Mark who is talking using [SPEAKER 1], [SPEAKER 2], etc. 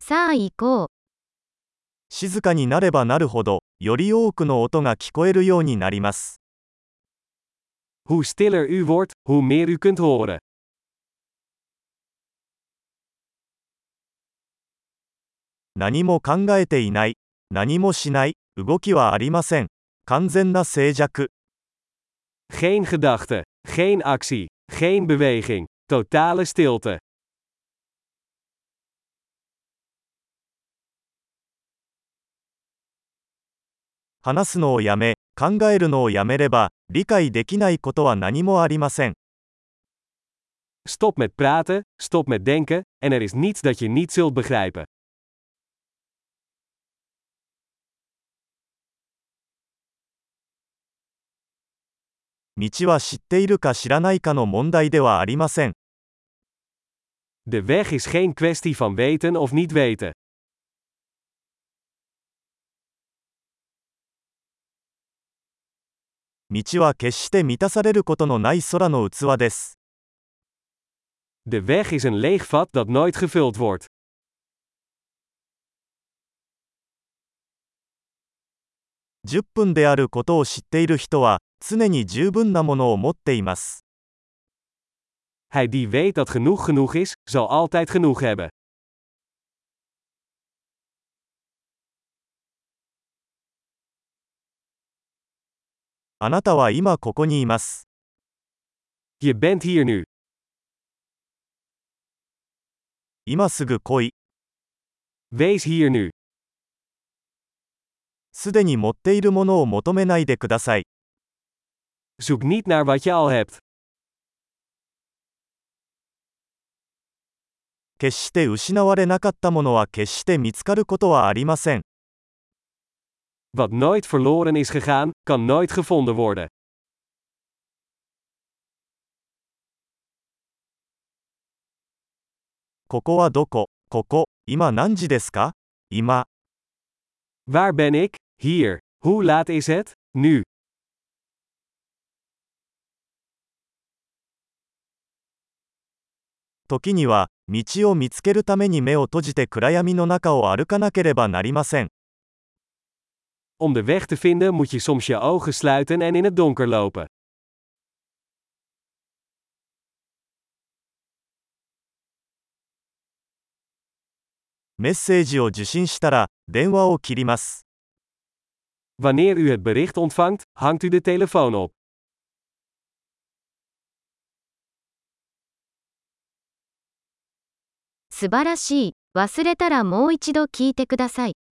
[SPEAKER 1] さあ行こう。
[SPEAKER 2] 静かになればなるほど、より多くの音が聞こえるようになります。
[SPEAKER 3] Hoe stiller u wordt, hoe meer u kunt horen.
[SPEAKER 2] 何も考えていない、何もしない、動きはありません。完全な静寂。
[SPEAKER 3] Geen gedachte, geen actie, geen beweging, totale stilte.
[SPEAKER 2] 話すのをやめ、考えるのをやめれば、理解できないことは何もありません。
[SPEAKER 3] Stop met praten, stop met denken, en er is niets dat je niet zult begrijpen.
[SPEAKER 2] 道は知っているか知らないかの問題ではありません。
[SPEAKER 3] De weg is geen kwestie van weten of niet weten.
[SPEAKER 2] 道は決して満たされることのない空の器です。
[SPEAKER 3] De weg is een leeg vat dat nooit gevuld wordt.
[SPEAKER 2] 10分であることを知っている人は、常に十分なものを持っています。
[SPEAKER 3] Hij die weet dat genoeg is, zal altijd genoeg hebben.
[SPEAKER 2] あなたは今ここにいます。
[SPEAKER 3] Je bent hier nu.
[SPEAKER 2] 今すぐ来い。
[SPEAKER 3] Wees hier nu.
[SPEAKER 2] すでに持っているものを求めないでください。
[SPEAKER 3] Zoek niet naar wat je al hebt.
[SPEAKER 2] 決して失われなかったものは決して見つかることはありません。
[SPEAKER 3] Wat nooit verloren is gegaan, kan nooit gevonden worden.
[SPEAKER 2] ここはどこ？ここ、今何時ですか？今。
[SPEAKER 3] Waar ben ik? Hier. Hoe laat is het? Nu.
[SPEAKER 2] 時には、道を見つけるために目を閉じて暗闇の中を歩かなければなりません。
[SPEAKER 3] Om de weg te vinden moet je soms je ogen sluiten en in het donker lopen.
[SPEAKER 2] メッセージを受信したら、電話を切ります。
[SPEAKER 3] Wanneer u het bericht ontvangt, hangt u de telefoon op.
[SPEAKER 1] 素晴らしい。忘れたらもう一度聞いてください。